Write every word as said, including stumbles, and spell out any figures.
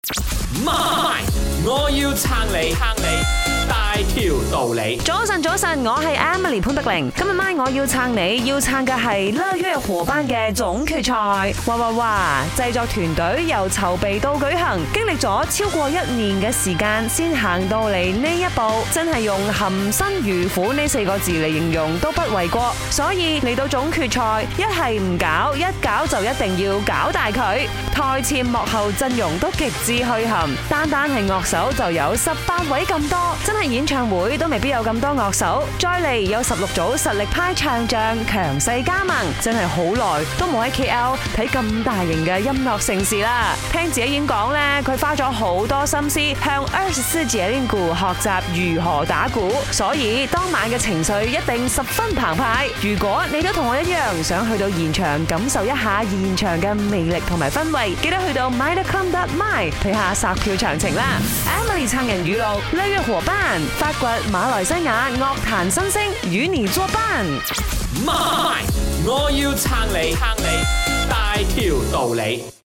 媽咪，我要撐你，撐你大條道理。 早晨，早晨，我係 Emily 潘碧玲。今日晚我要撐你，要撐嘅係樂月伙伴嘅總決賽。哇哇哇！製作團隊由籌備到舉行，經歷咗超過一年嘅時間，先行到嚟呢一步，真係用含辛茹苦呢四個字嚟形容都不為過。所以嚟到總決賽，一係唔搞，一搞就一定要搞大佢。台前幕後陣容都極之墟冚，單單係樂手就有十八位咁多，真係演唱會都未必有咁多樂手。再嚟有十六組實力派唱將強勢加盟，真係好耐都冇喺 K L 睇咁大型嘅音樂盛事啦。聽自己演講呢，佢花咗好多心思向二十四節令鼓學習如何打鼓，所以當晚嘅情緒一定十分澎湃。如果你都同我一樣想去到現場感受一下現場嘅魅力同埋氛圍，記得去到 my dot com dot my 睇下殺票詳情啦。Emily 撐人語錄，樂月伙伴發掘馬來西亞樂壇新星，與你作伴。 媽咪，我要撐你，撐你大條道理。